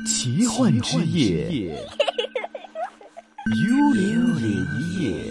奇幻之夜，幽靈夜。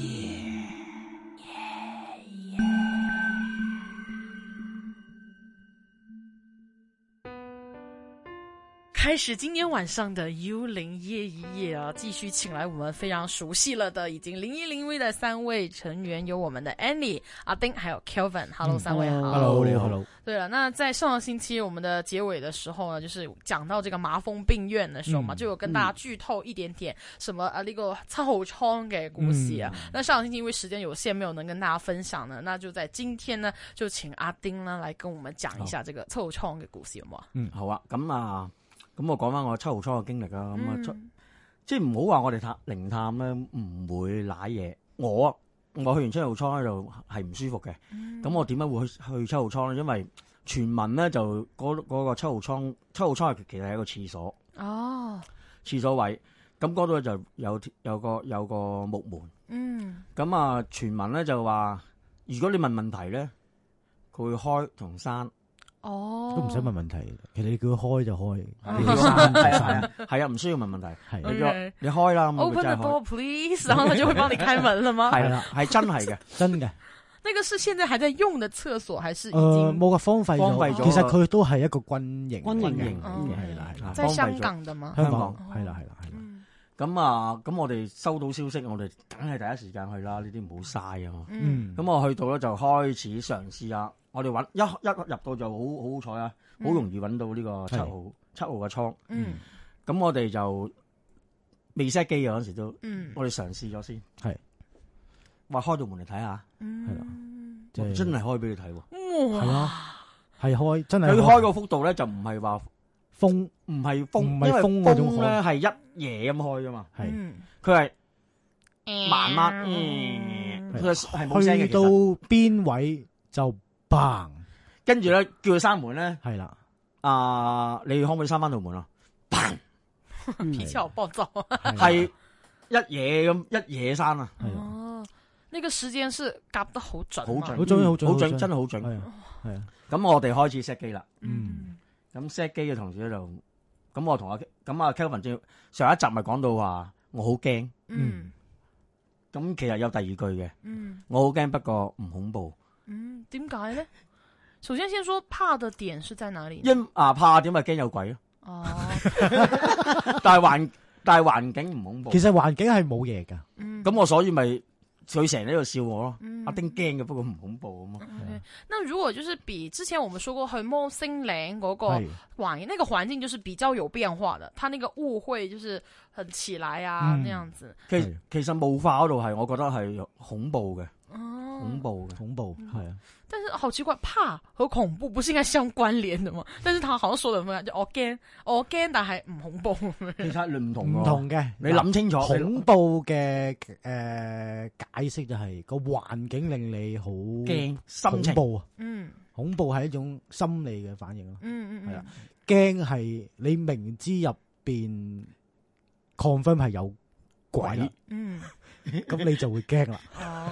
开始今天晚上的幽灵夜一夜啊，继续请来我们非常熟悉了的已经0101的三位成员，有我们的 Annie、阿丁还有 Kelvin。Hello，三位好。 Hello， 你好。Hello。 对了，那在上个星期我们的结尾的时候呢，就是講到這個麻風病院的時候嘛，就有跟大家劇透一點點什麼呢個七號倉嘅故事啊。那上個星期因為時間有限，沒有能跟大家分享呢，那就在今天呢，就請阿丁呢來跟我們講一下這個七號倉嘅故事，好冇？ 好啊。咁我講翻我七號倉嘅經歷啊。即係唔好話我哋靈探咧唔會瀨嘢。我去完七號倉咧就係唔舒服嘅。咁我點解會去七號倉咧？因為傳聞咧就嗰個七號倉係其實係一個廁所。哦，廁所位，咁嗰度就有個木門。咁傳聞咧就話，如果你問問題咧，佢會開同閂。哦，都唔使問問題，其實你叫佢開就開，你閂就閂，係啊，唔需要問問題，係你開啦。 Open the door, please， 然後他就會幫你開門了嗎？ 係啦，係真係嘅，真嘅。 那個是現在還在用的廁所，還是已經冇荒廢咗？其實佢都係一個軍營， 係啦， 在香港的嘛？ 香港係啦。 咁我哋收到消息，我哋梗係第一時間去啦，呢啲唔好嘥啊嘛。咁我去到咧就開始嘗試啊。我哋揾一入到就好彩啊，好容易揾到呢個七號嘅倉。咁我哋就未 set 機嘅嗰時都，我哋嘗試咗先。係話開到門嚟睇下，係啦，真係開俾你睇喎。係啊，係開真係。佢開個幅度咧就唔係話風，唔係風，因為風咧係一夜咁開噶嘛。係，佢係慢慢，佢係冇聲嘅。去到邊位就。嘭，跟住咧叫佢閂門咧，係啦，你可唔可以閂翻道門啊？嘭， 脾氣好暴躁， 係一嘢閂啊！ 哦，呢個時間是夾得好準， 好準，真係好準，係啊。咁我哋開始 set 機啦，咁 set 機嘅同時咧就，咁我同阿 Kelvin 上一集咪講到話我好驚，咁其實有第二句嘅，我好驚，不過唔恐怖。 點解咧？首先說怕的點是在哪裏？ 怕點咪驚有鬼咯。哦，但係環境唔恐怖。其實環境係冇嘢噶。咁我所以咪佢成日喺度笑我咯。阿丁驚嘅，不過唔恐怖啊嘛。 那如果就是比之前我們說過去摩星嶺嗰個環，那個環境就是比較有變化的，它那個霧會就是很起來啊，那樣子。 其實霧化嗰度係，我覺得係恐怖嘅。恐怖係啊！ 但是好奇怪，怕和恐怖不是應該相關聯的嗎？但是他好像說得唔一樣，就我驚，但係唔恐怖。 其實唔同嘅，你諗清楚。 恐怖嘅解釋就係個環境令你好驚，心情。 恐怖啊！恐怖係一種心理嘅反應咯。係啦，驚係你明知入邊 confirm 係有鬼。咁你就會驚啦。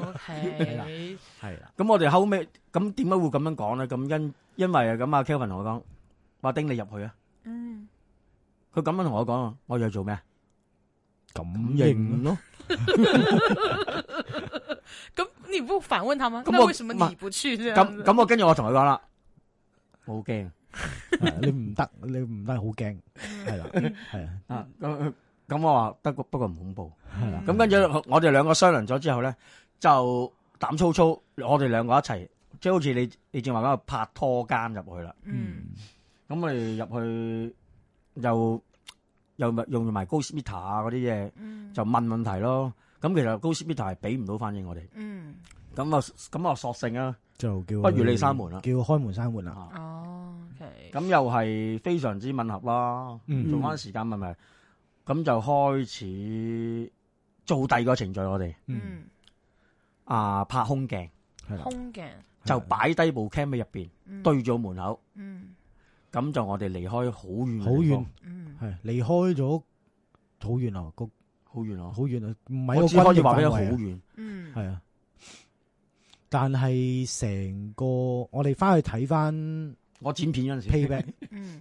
OK， 係啦。咁我哋後尾咁點解會咁樣講咧？咁因為咁阿 Kelvin 同我講，話丁你入去啊。佢咁樣同我講啊，我要做咩？感應咯。 咁你不反問他嗎？那為什麼你不去？ 咁我跟住我同佢講啦，我好驚。 你唔得，好驚。係啦，係啊。 咁我話得，不過唔恐怖。係啦。咁跟住我哋兩個商量咗之後咧，就膽粗粗，我哋兩個一齊，即係好似你正話講拍拖間入去啦。咁我哋入去又用埋 Ghost Meter 啊嗰啲嘢，就問問題咯。咁其實 Ghost Meter 係俾唔到反應我哋。咁啊索性啊，就叫不如你閂門啦，叫開門閂門啦。 哦，OK。咁又係非常之吻合啦。做翻時間問題。咁就開始做第二個程序，我哋拍空鏡， 空鏡就擺低部 cam 喺入邊，對住門口，咁就我哋離開好遠，好遠，係離開咗好遠啊，好遠啊，好遠啊，唔係我只可以話俾你好遠，係啊，但係成個我哋翻去睇翻我剪片嗰陣時 playback。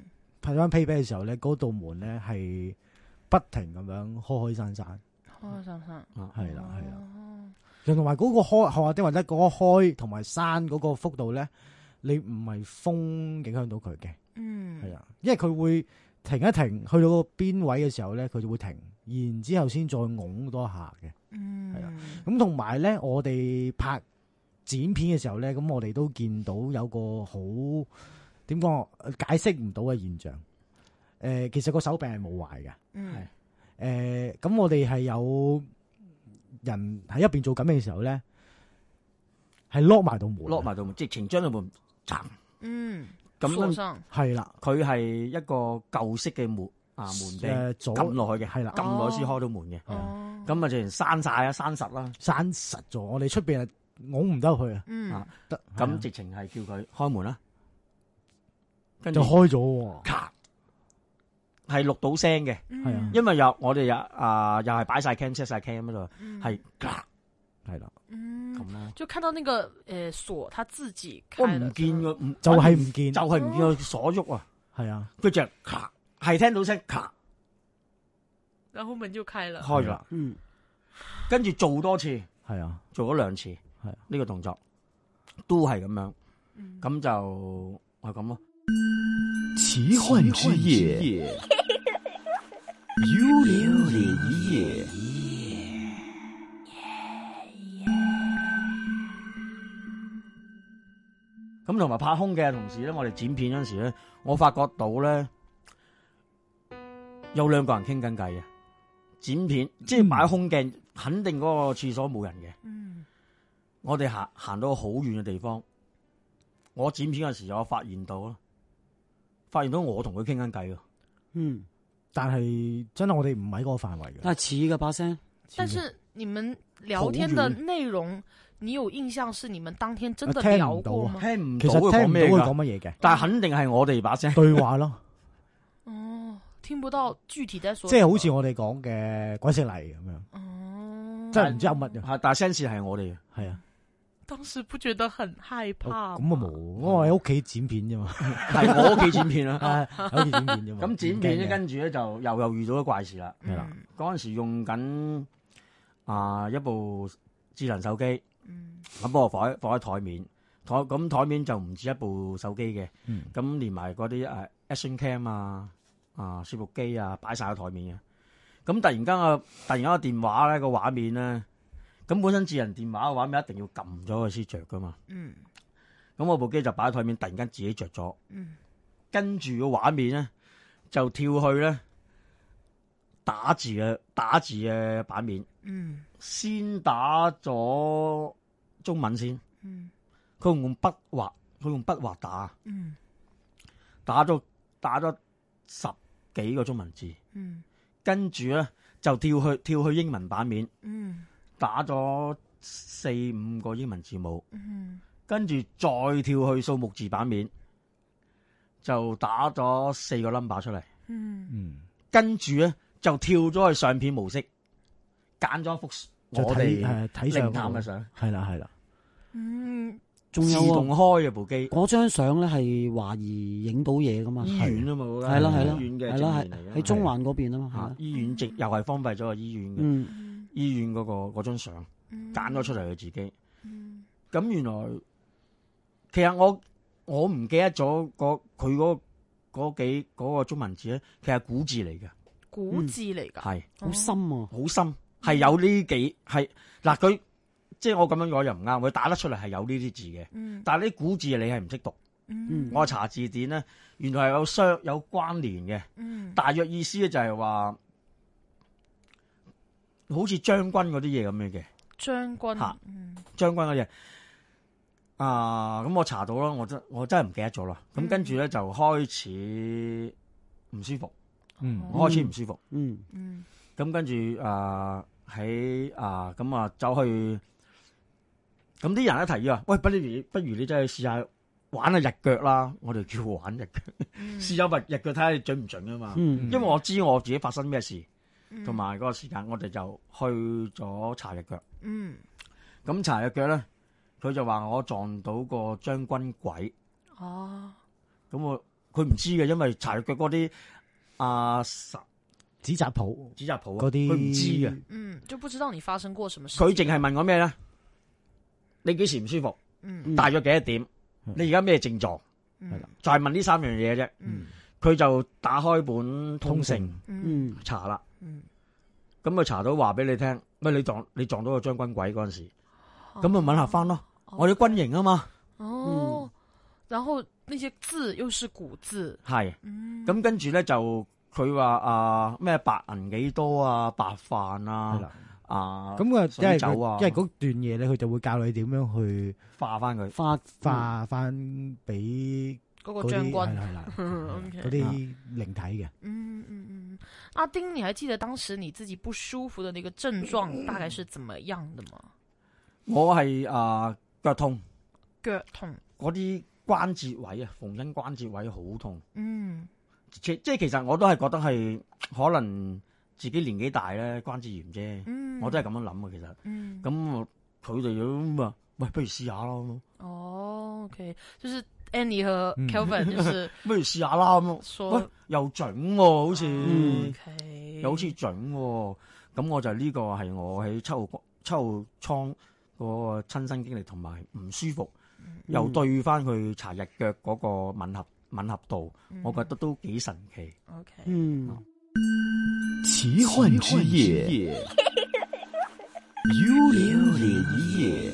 拍翻 payback 嘅時候咧，嗰道門咧係不停咁樣開閂，係啦。同埋嗰個開或者嗰個開同埋閂嗰個幅度咧，你唔係風影響到佢嘅，係啊，因為佢會停一停，去到個邊位嘅時候咧，佢就會停，然之後先再拱多下嘅，係啊。咁同埋咧，我哋拍剪片嘅時候咧，咁我哋都見到有個好點講解釋唔到嘅現象。其實個手柄係冇壞嘅，咁我哋係有人喺入邊做緊嘅時候咧，係 lock 埋道門， 直情將道門閂。咁係啦， 佢係一個舊式嘅門柄，撳落去嘅，係啦，撳落去先開到門嘅。咁啊，直情閂晒啊，閂實啦， 閂實咗。我哋出邊係拱唔得去啊。 得咁直情係叫佢開門啦，跟住就開咗， 咔，係錄到聲嘅， 係啊， 因為我哋又係擺晒 cam set 晒 cam 喺度，係咔，係啦，咁啦， 就看到那個鎖，他自己開， 我唔見個， 就係唔見個鎖喐啊， 係啊， 佢就咔，係聽到聲咔， 然後門就開了， 開咗，跟住做多次， 係啊， 做咗2次，係呢個動作都係咁樣，咁就係咁咯。 奇幻之夜，幽靈夜。 咁同埋拍空嘅同時咧，我哋剪片嗰陣時咧，我發覺到咧有2個人傾緊偈嘅剪片，即係擺空鏡，肯定嗰個廁所冇人嘅。我哋行到好遠嘅地方，我剪片嗰陣時我發現到我同佢傾緊偈。 但係真係我哋唔喺嗰個範圍嘅。 但係似嘅把聲。 但是你們聊天的內容，你有印象是你們當天真的聊過嗎？ 聽唔到， 其實聽唔到佢講乜嘢嘅， 但係肯定係我哋把聲對話咯。 聽不到具體在說， 即係好似我哋講嘅鬼食泥咁樣。真係唔知有乜嘅。 但係聲線係我哋嘅， 係啊。 當時不覺得很害怕？ 咁啊冇，我喺屋企剪片啫嘛。 係我屋企剪片啦， 喺屋企剪片啫嘛。 咁剪片咧，跟住咧就又遇到咗怪事啦。係啦，嗰陣時用緊一部智能手機，咁幫我放喺台面，咁台面就唔止一部手機嘅，咁連埋嗰啲Action Cam 攝錄機擺晒喺台面嘅。咁突然間個電話咧個畫面咧。咁本身智能電話嘅畫面一定要撳咗佢先着噶嘛。咁我部機就擺喺台面，突然間自己着咗。跟住個畫面咧就跳去咧打字嘅版面。先打咗中文先。佢用筆畫打。打咗10幾個中文字。跟住咧就跳去英文版面。打咗4-5個英文字母，跟住再跳去數目字版面，就打咗4個 number 出嚟，跟住咧就跳咗去相片模式，揀咗一幅我哋睇靈探嘅相， 係啦， 仲有自動開嘅部機， 嗰張相咧係懷疑影到嘢噶嘛， 醫院啊嘛， 係啦， 醫院嘅正面嚟嘅， 喺中環嗰邊啊嘛， 醫院又係荒廢咗個醫院嘅。醫院嗰張相揀咗出嚟佢自己，咁原來其實我唔記得咗佢嗰個中文字咧，其實係古字嚟嘅， 古字嚟噶， 係好深啊， 好深，係有呢幾係嗱佢即係我咁樣講又唔啱，佢打得出嚟係有呢啲字嘅，但係呢古字你係唔識讀，我查字典咧，原來係有關聯嘅，大約意思咧就係話。好似將軍嗰啲嘢咁樣嘅，將軍嗰嘢咁我查到啦，我真係唔記得咗啦。咁跟住咧就開始唔舒服，我開始唔舒服，咁跟住喺走去，咁啲人一提議話，喂，不如你真係試下玩下日腳啦，我哋叫玩日腳，試下日腳睇下你準唔準啊嘛，因為我知我自己發生咩事。同埋嗰個時間，我哋就去咗查日腳。咁查日腳咧，佢就話我撞到個將軍鬼。咁佢唔知嘅，因為查腳嗰啲紙紮鋪嗰啲，佢唔知嘅， 就不知道你發生過什麼事。 佢淨係問我咩咧？你幾時唔舒服？大約幾多點？你而家咩症狀？係啦，就係問呢3樣嘢啫。佢就打開本通勝查啦。咁佢查到話俾你聽，喂，你撞到個將軍鬼嗰陣時，咁咪吻合翻咯。我哋軍營啊嘛。 然後那些字又是古字。 係。咁跟住咧就佢話咩白銀幾多啊，白飯啊。 咁水酒啊，因為嗰段嘢咧，佢就會教你點樣去化翻佢， 化翻俾嗰個將軍， 係啦，嗰啲靈體嘅。 阿丁，你還記得當時你自己不舒服的那個症狀大概是怎麼樣的嗎？ 我係腳痛嗰啲關節位啊，縫親關節位好痛。即係其實我都係覺得係可能自己年紀大咧，關節炎啫。我都係咁樣諗啊，其實。咁佢哋咁啊，喂，不如試下咯。 OK，就是 Annie 和 Kelvin，就是不如試下啦咁。喂，又準喎，好似，又好似準喎。咁我就呢個係我喺7號倉嗰個親身經歷，同埋唔舒服，又對翻佢查日腳嗰個吻合度，我覺得都幾神奇。 奇幻之夜，幽靈夜。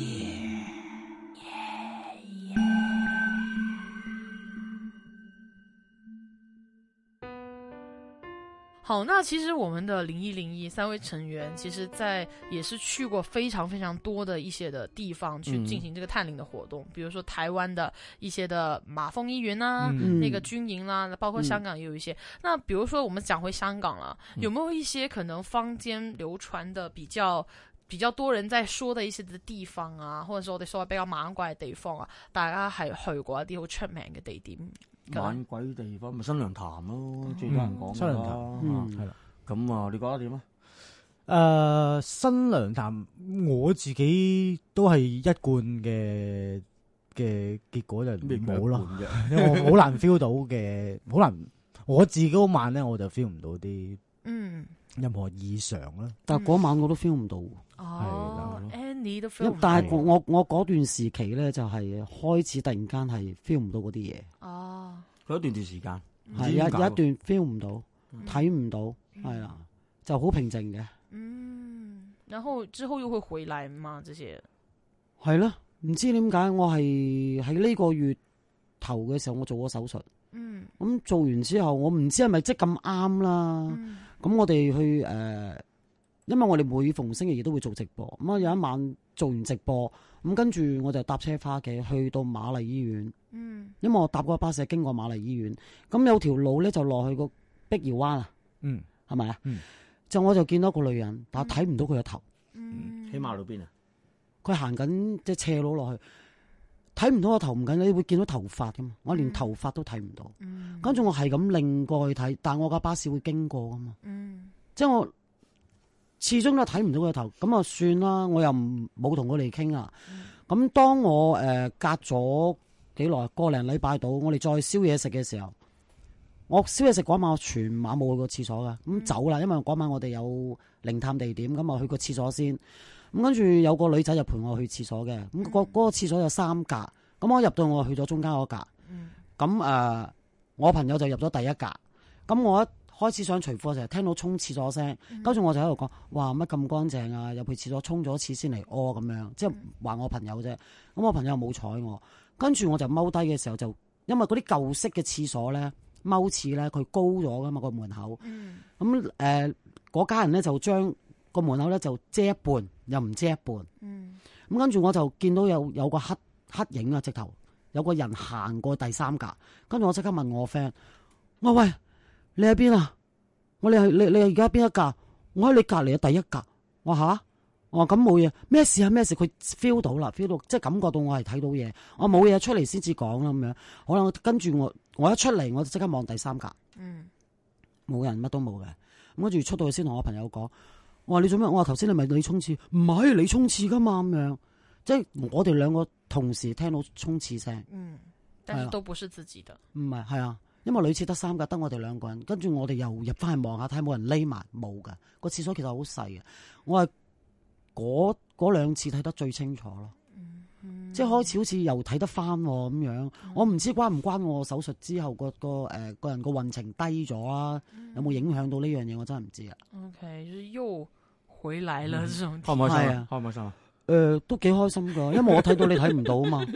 好，那其實我們的0101 3位成員，其實在也是去過非常非常多的一些的地方去進行這個探靈的活動，比如說台灣的一些的馬蜂醫院啊，那個軍營啦，包括香港也有一些。那比如說我們講回香港了，有沒有一些可能坊間流傳的比較多人在說的一些的地方啊，或者說我哋所謂比較猛鬼嘅地方啊，大家係去過一啲好出名嘅地點？ 猛鬼地方咪新娘潭咯，最多人講新娘潭，係啦。 咁啊，你覺得點啊？ 新娘潭我自己都係一貫嘅結果就冇咯，因為我好難 feel 到嘅，好難我自己嗰晚咧我就 feel 唔到啲任何異常啦。 但係嗰晚我都 feel 唔到。 Annie 都 feel 唔到。 但係我嗰段時期咧就係開始突然間係 feel 唔到嗰啲嘢。 佢一段時間係有一段 feel 唔到，睇唔到，係啦，就好平靜嘅。 然後之後又會回來嘛？這些係咯，唔知點解我係喺呢個月頭嘅時候我做咗手術。咁做完之後，我唔知係咪即咁啱啦。咁我哋去因為我哋每逢星期二都會做直播，咁啊有一晚做完直播，咁跟住我就搭車翻屋企，去到瑪麗醫院。因為我搭嗰個巴士經過瑪麗醫院，咁有條路咧就落去個碧瑤灣啊，係咪啊？就我就見到個女人，但係睇唔到佢個頭。 喺馬路邊啊？ 佢行緊即係斜路落去，睇唔到個頭唔緊要，你會見到頭髮噶嘛？我連頭髮都睇唔到。跟住我係咁擰過去睇，但係我架巴士會經過噶嘛？即係我始終都睇唔到佢頭，咁啊算啦，我又冇同佢哋傾啊。咁當我隔咗幾耐，個零禮拜到，我哋再燒嘢食嘅時候，我燒嘢食嗰晚我全晚冇去過廁所噶，咁走啦，因為嗰晚我哋有靈探地點，咁啊去個廁所先。咁跟住有個女仔就陪我去廁所嘅，咁嗰個廁所有3格，咁我入到我去咗中間嗰格，咁我朋友就入咗第一格，咁我一開始想除褲就聽到沖廁所聲，跟住我就喺度講：哇，乜咁乾淨啊！入去廁所沖咗一次先嚟屙咁樣，即係話我朋友啫。咁我朋友冇睬我，跟住我就踎低嘅時候就，因為嗰啲舊式嘅廁所咧，踎廁咧佢高咗噶嘛個門口，咁嗰家人咧就將個門口咧就遮一半，又唔遮一半，咁跟住我就見到有個黑影啊，直頭有個人行過第3格，跟住我即刻問我 friend：我喂，你喺邊啊？我你而家邊一格？我喺你隔籬嘅第一格。我吓，我話咁冇嘢，咩事啊？咩事？佢 feel 到啦 ，feel 到即係感覺到我係睇到嘢。我冇嘢出嚟先至講啦咁樣。好啦，跟住我一出嚟我就即刻望第3格，冇人，乜都冇嘅。咁跟住出到去先同我朋友講，我話你做咩？我話頭先你咪你沖廁，唔係你沖廁噶嘛咁樣。即係我哋2個同時聽到沖廁聲。 但是都不是自己的。 唔係，係啊，因為女廁得3格，得我哋2個人，跟住我哋又入翻去望下睇冇人匿埋，冇噶。個廁所其實好細嘅，我係嗰2次睇得最清楚咯。即係開始好似又睇得翻咁樣，我唔知關唔關我手術之後個人個運程低咗啊？有冇影響到呢樣嘢？我真係唔知啊。 OK，就是又回來了，這種開唔開心啊？開唔開心啊？ 都幾開心噶，因為我睇到你睇唔到啊嘛。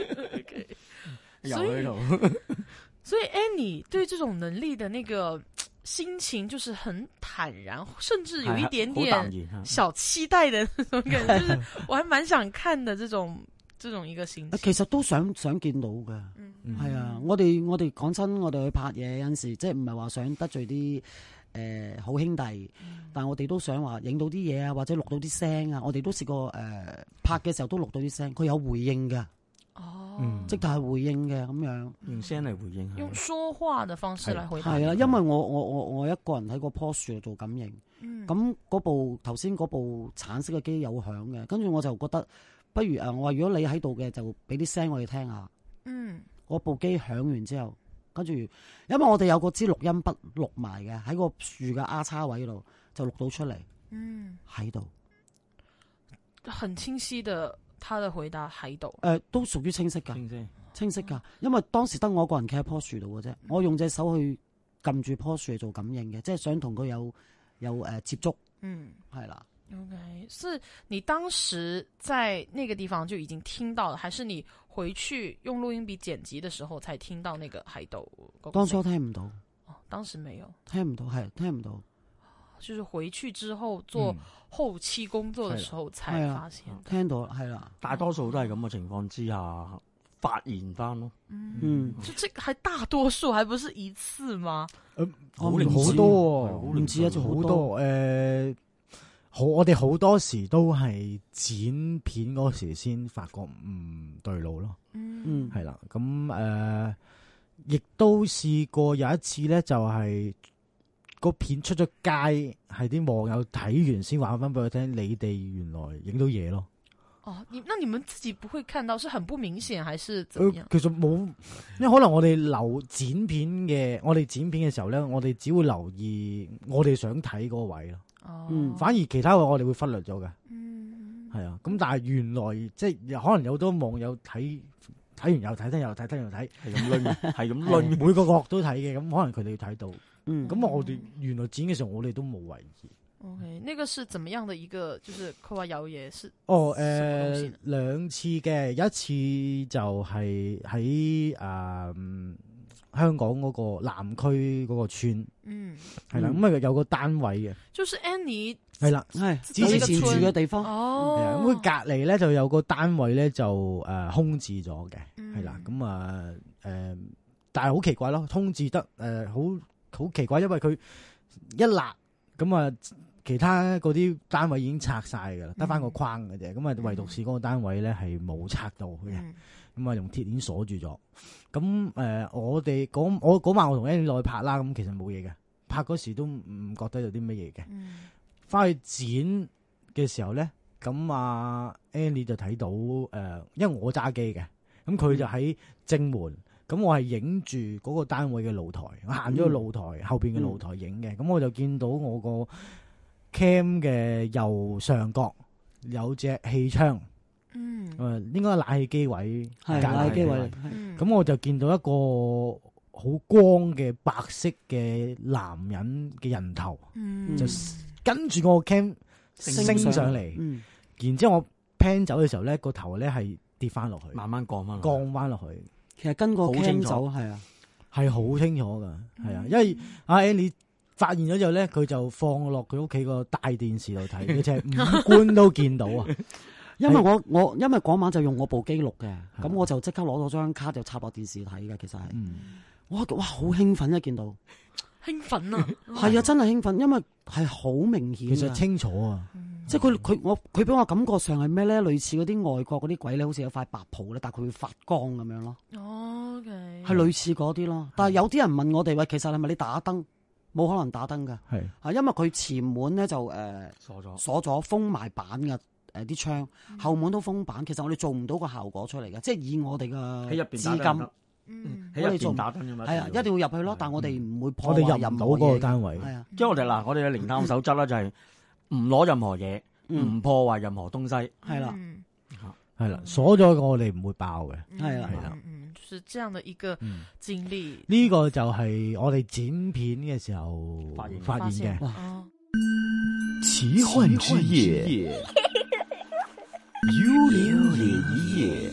所以 Annie 對這種能力的那個心情就是很坦然，甚至有一點點小期待的那種感覺，就是我還蠻想看的這種一個心情。 其實都想見到嘅，係啊，我哋講真，我哋去拍嘢有陣時，即係唔係話想得罪啲好兄弟，但係我哋都想話影到啲嘢啊，或者錄到啲聲啊，我哋都試過拍嘅時候都錄到啲聲，佢有回應嘅。即係回應嘅咁樣， 用聲嚟回應， 用說話嘅方式嚟回答。 係啊，因為我一個人喺個棵樹度做感應，咁頭先嗰部橙色嘅機有響嘅，跟住我就覺得不如我話如果你喺度嘅就俾啲聲我哋聽下。嗰部機響完之後，跟住因為我哋有個支錄音筆錄埋嘅喺個樹嘅丫叉位度就錄到出嚟，喺度， 很清晰的。他的回答喺度， 都屬於清晰噶，清晰噶，因為當時得我一個人企喺棵樹度嘅啫，我用隻手去撳住棵樹嚟做感應嘅，即係想同佢有接觸，係啦。 OK，是你當時在那個地方就已經聽到了，還是你回去用錄音筆剪輯的時候才聽到那個喺度？ 當初聽唔到， 當時沒有聽唔到，係聽唔到。 就是回去之後做後期工作的時候才發現， 聽到係啦， 大多數都係咁嘅情況之下發現翻咯。 就這還大多數，還不是一次嗎？ 好多，唔止啊，就好多。我哋好多時都係剪片嗰時先發覺唔對路咯。係啦，咁亦都試過有一次咧，就係。個片出咗街，係啲網友睇完先話翻俾我聽，你哋原來影到嘢咯。 那你們自己不會看到，是很不明顯，還是怎麼樣？ 其實冇，因為可能我哋剪片嘅時候咧，我哋只會留意我哋想睇嗰個位咯。反而其他位我哋會忽略咗嘅。係啊，咁但係原來即係可能有好多網友睇完又睇，聽又睇，聽又睇，係咁輪，係咁輪，每個角都睇嘅，咁可能佢哋睇到。咁我哋原來剪嘅時候，我哋都冇為意。 OK，那個是怎麼樣的一個，就是佢話有嘢是兩次嘅，一次就係喺香港嗰個南區嗰個村，係啦，咁有個單位嘅， 就是 Annie 係啦，係之前住嘅地方， 咁佢隔籬咧就有個單位咧就空置咗嘅，係啦，咁但係好奇怪咯，空置得好奇怪，因為佢一立咁啊，其他嗰啲單位已經拆晒噶啦，得翻個框嘅啫。咁啊，唯獨是嗰個單位咧係冇拆到嘅，咁啊用鐵鏈鎖住咗。咁我嗰晚我同 Annie 落去拍啦，咁其實冇嘢嘅，拍嗰時都唔覺得有啲乜嘢嘅。翻去剪嘅時候咧，咁Annie 就睇到因為我揸機嘅，咁佢就喺正門。咁我係影住嗰個單位嘅露台，我行咗個露台後邊嘅露台影嘅，咁我就見到我個 cam 嘅右上角有隻氣窗，應該係冷氣機位， 冷氣機位， 咁我就見到一個好光嘅白色嘅男人嘅人頭，就跟住我個 cam 升上嚟，然之後我 pan 走嘅時候咧，個頭咧係跌翻落去， 慢慢降翻落去。 其實跟個 cam 走係啊， 係好清楚噶，係啊，因為阿 Annie 發現咗之後咧，佢就放落佢屋企個大電視度睇，佢就係五官都見到啊。 因為我因為嗰晚就用我部機錄嘅，咁我就即刻攞咗張卡就插落電視睇嘅。其實係，哇好興奮一見到， 興奮啊， 係啊，真係興奮，因為係好明顯， 其實清楚啊。 即係佢俾我感覺上係咩咧？類似嗰啲外國嗰啲鬼咧，好似有塊白袍咧，但係佢會發光咁樣咯。 OK， 係類似嗰啲咯。但係有啲人問我哋喂，其實係咪你打燈？冇可能打燈噶，係因為佢前門咧就鎖咗封埋板嘅啲窗，後門都封板。其實我哋做唔到個效果出嚟嘅，即係以我哋嘅資金喺入邊打燈㗎嘛。 係啊，一定要入去咯。但係我哋唔會破我哋壞任何入唔到嗰個嘢。 單位。 係啊， 即係我哋嘅靈探守則咧就係唔攞任何嘢，唔破壞任何東西。 係啦， 係啦，鎖咗我哋唔會爆嘅。 係啦， 係啦。 就是這樣的一個經歷。 呢個就係我哋剪片嘅時候發現嘅。 奇幻之夜，幽靈夜。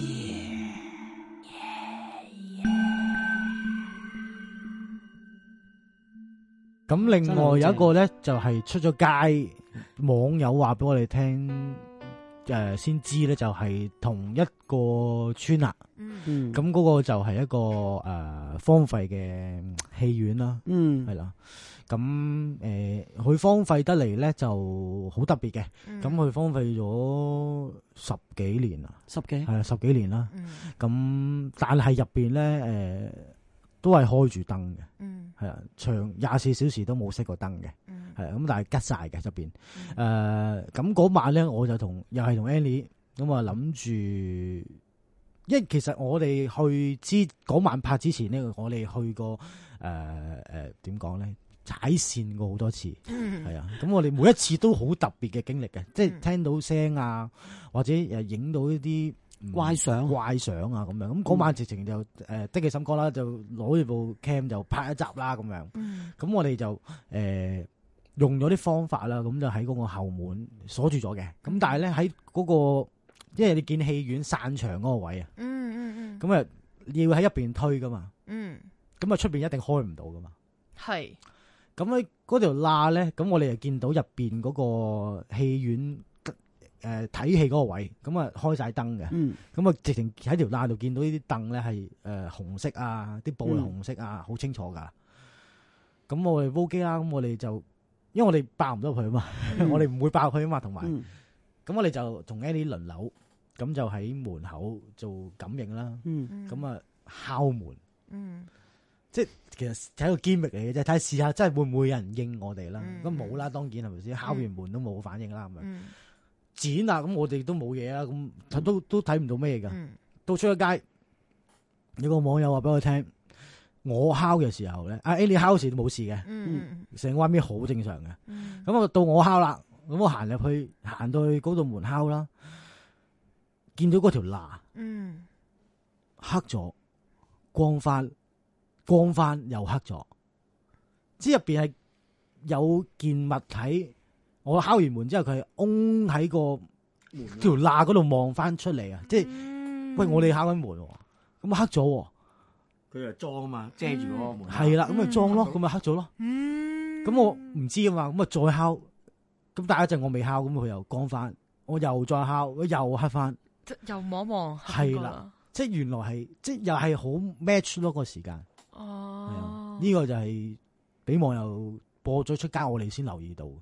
咁另外有一個咧，就係出咗街，網友話俾我哋聽，先知咧就係同一個村啦。咁嗰個就係一個荒廢嘅戲院啦。係啦。咁佢荒廢得嚟咧就好特別嘅。咁佢荒廢咗10幾年啦。係啊，10幾年啦。咁但係入邊咧都係開住燈嘅。係啊，長24小時都冇熄過燈嘅。係咁，但係吉晒嘅入邊。咁嗰晚咧，我就又係同 Annie 咁啊諗住，因為其實我哋去嗰晚拍之前咧，我哋去過點講咧，踩線過好多次。係啊，咁我哋每一次都好特別嘅經歷嘅，即係聽到聲啊，或者影到一啲怪相啊咁樣。咁嗰晚直情就的起心肝啦，就攞住部 cam 就拍一集啦咁樣。咁我哋就用咗啲方法啦，咁就喺嗰個後門鎖住咗嘅。咁但係咧喺嗰個，因為你見戲院散場嗰個位啊，咁啊要喺入邊推噶嘛，咁啊出邊一定開唔到噶嘛。係，咁喺嗰條罅咧，咁我哋就見到入邊嗰個戲院睇戲嗰個位，咁啊開晒燈嘅，咁啊直情喺條罅度見到呢啲凳咧係紅色啊，啲布係紅色啊，好清楚噶。咁我哋煲機啦，咁我哋就因為我哋爆唔到佢啊嘛，我哋唔會爆佢啊嘛，同埋咁我哋就同 Annie 輪流，咁就喺門口做感應啦，咁啊敲門，即係其實係一個機密嚟嘅啫，睇下試下真係會唔會有人應我哋啦。咁冇啦，當然係咪先？敲完門都冇反應啦，咁樣剪啊，咁我哋都冇嘢啦，咁都睇唔到咩噶。到出咗街，有個網友話俾我聽，我敲嘅時候咧，Annie 敲時都冇事嘅，成個畫面好正常嘅。咁啊到我敲啦，咁我行到去嗰度門敲啦，見到嗰條罅，黑咗，光翻又黑咗，即係入邊係有件物體。我敲完門之後，佢係嗡喺個條罅嗰度望翻出嚟啊！即係喂，我哋敲緊門，咁黑咗。 佢就裝啊嘛，遮住嗰個門。 係啦，咁咪裝咯，咁咪黑咗咯。咁我唔知啊嘛，咁啊再敲，咁但係一陣我未敲，咁佢又光翻，我又再敲，又黑翻， 又望望。 係啦，即係原來係，即係又係好 match 咯個時間。哦，呢個就係俾網友播咗出街，我哋先留意到。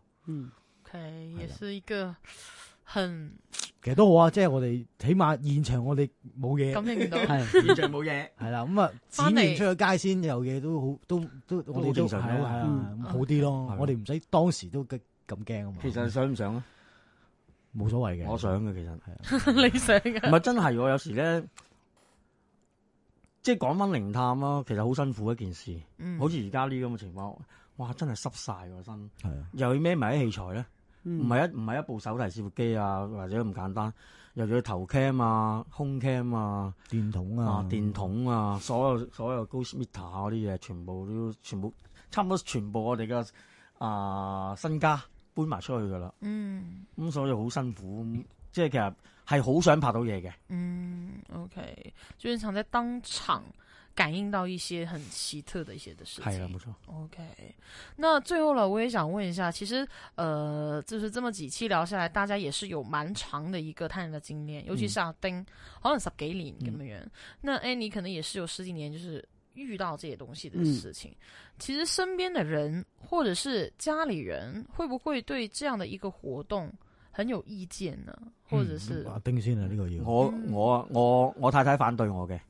OK，也是一個很， 其實都好啊，即係我哋起碼現場我哋冇嘢， 感應到係現場冇嘢， 係啦，咁啊剪完出咗街先有嘢都好，都我哋都係啊，好啲咯，我哋唔使當時都咁驚啊嘛。 其實想唔想啊？ 冇所謂嘅， 我想嘅其實係你想嘅， 唔係真係喎，有時咧。即係講翻靈探啦，其實好辛苦一件事，好似而家呢咁嘅情況，哇！真係濕晒個身，又要孭埋啲器材咧，唔係一部手提攝錄機啊，或者咁簡單，又要頭 cam 啊、胸 cam 啊、電筒啊，所有 ghost meter 嗰啲嘢，全部差唔多全部我哋嘅身家搬埋出去噶啦，咁所以好辛苦，即係其實。係好想拍到嘢嘅。 OK，就是想在當場感應到一些很奇特的一些的事情。 係啦，冇錯。 OK，那最後呢，我也想問一下，其實就是這麼幾期聊下來，大家也是有蠻長的一個探人嘅經驗，尤其是阿丁，可能10幾年咁樣。那 Annie 可能也是有10幾年，就是遇到這些東西的事情。其實身邊的人或者是家裏人，會不會對這樣的一個活動很有意見呢？或者是阿丁先啊，呢個要我太太反對我嘅，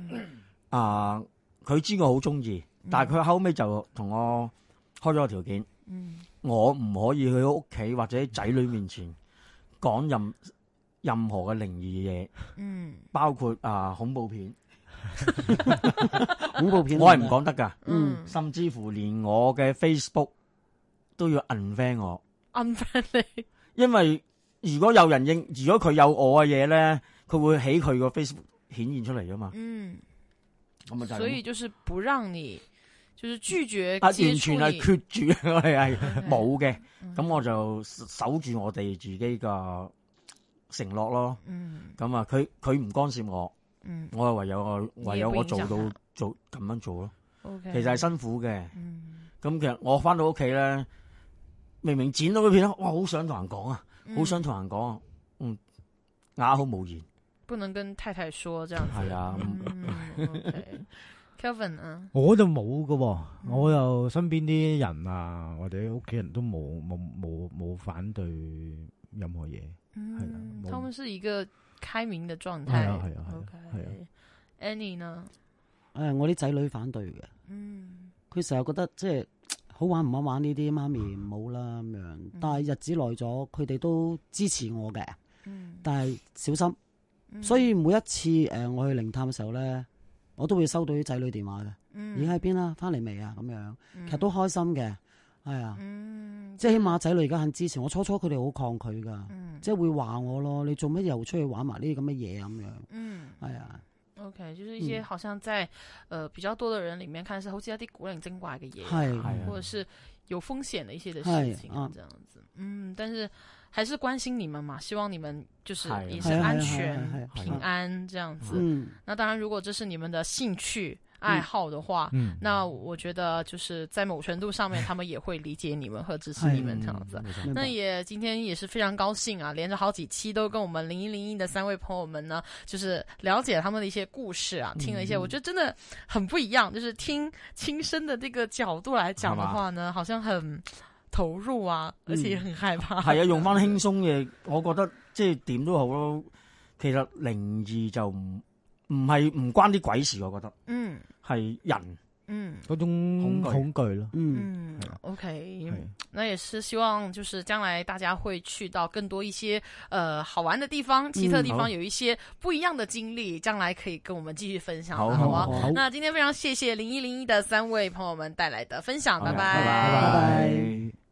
佢知我好中意，但係佢後尾就同我開咗個條件，我唔可以去屋企或者仔女面前講任何嘅靈異嘢，包括恐怖片， 恐怖片我係唔講得㗎， 甚至乎連我嘅 Facebook 都要 unfriend 我 ，unfriend 你， 因為如果有人如果佢有我嘅嘢咧，佢會喺佢個 Facebook 顯現出嚟㗎嘛。咁就所以就是不讓你，就是拒絕完全係決住，我哋係冇嘅。咁我就守住我哋自己嘅承諾咯。咁啊，佢唔干涉我，我係唯有我做到咁樣做咯。其實係辛苦嘅。咁其實我翻到屋企咧，明明剪到嗰片，哇，好想同人講啊，好想同人講啊，啞口無言。 不能跟太太說這樣子。 係啊。 Kelvin 啊， 我就冇㗎，我又身邊啲人啊，或者屋企人都冇反對任何嘢。係啦， 他們是一個開明的狀態。 係啊。 Annie 呢？ 我啲仔女反對嘅。佢成日覺得即係好玩唔好玩呢啲，媽咪唔好啦咁樣。但係日子耐咗，佢哋都支持我嘅。但係小心。所以每一次我去靈探嘅時候咧，我都會收到啲仔女電話嘅。而家喺邊啦？翻嚟未啊？咁樣，其實都開心嘅。係啊，即係起碼仔女而家肯支持我。初初佢哋好抗拒噶，即係會話我咯。你做乜又出去玩埋呢啲咁嘅嘢咁樣？係啊。 OK，就是一些好像在比較多的人裏面看是好似一啲古靈精怪嘅嘢，或者是有風險的一些的事情啊，這樣子。但是還是關心你們嘛，希望你們就是也是安全平安這樣子。那當然，如果這是你們的興趣愛好的話，那我覺得就是在某程度上面，他們也會理解你們和支持你們這樣子。那也今天也是非常高興啊，連着好幾期都跟我們0101的3位朋友們呢，就是了解他們的一些故事啊，聽了一些，我覺得真的很不一樣，就是聽親身的這個角度來講的話呢，好像很投入啊，而且也很害怕。 係啊，用翻輕鬆嘅，我覺得即係點都好咯。其實靈異就唔關啲鬼事，我覺得，係人， 嗰種恐懼咯。 OK，那也是希望就是將來大家會去到更多一些好玩的地方、奇特的地方，有一些不一樣的經歷，將來可以跟我們繼續分享。好啊，那今天非常謝謝0101的3位朋友們帶來的分享，拜拜。